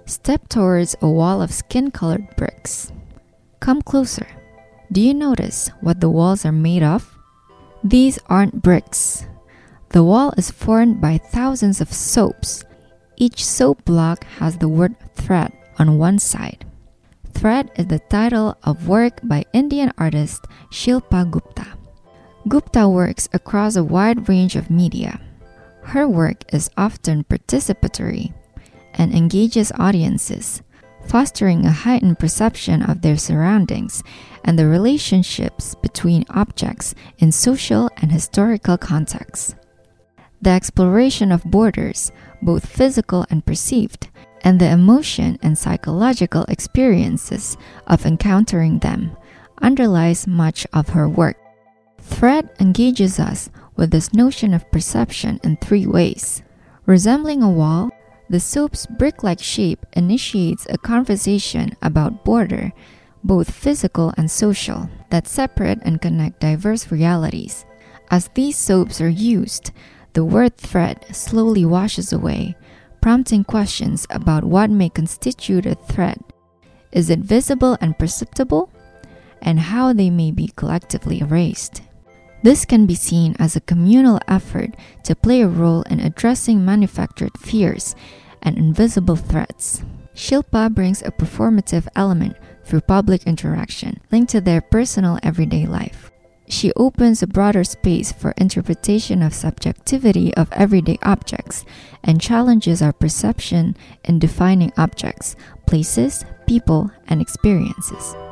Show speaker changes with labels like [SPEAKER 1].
[SPEAKER 1] Step towards a wall of skin-colored bricks. Come closer. Do you notice what the walls are made of? These aren't bricks. The wall is formed by thousands of soaps. Each soap block has the word thread on one side. Thread is the title of work by Indian artist Shilpa Gupta. Gupta works across a wide range of media. Her work is often participatory and engages audiences, fostering a heightened perception of their surroundings and the relationships between objects in social and historical contexts. The exploration of borders, both physical and perceived, and the emotion and psychological experiences of encountering them underlies much of her work. Thread engages us with this notion of perception in three ways. Resembling a wall, the soap's brick-like shape initiates a conversation about border, both physical and social, that separate and connect diverse realities. As these soaps are used, the word thread slowly washes away, prompting questions about what may constitute a thread. Is it visible and perceptible? And how they may be collectively erased. This can be seen as a communal effort to play a role in addressing manufactured fears and invisible threats. Shilpa brings a performative element through public interaction linked to their personal everyday life. She opens a broader space for interpretation of subjectivity of everyday objects and challenges our perception in defining objects, places, people, and experiences.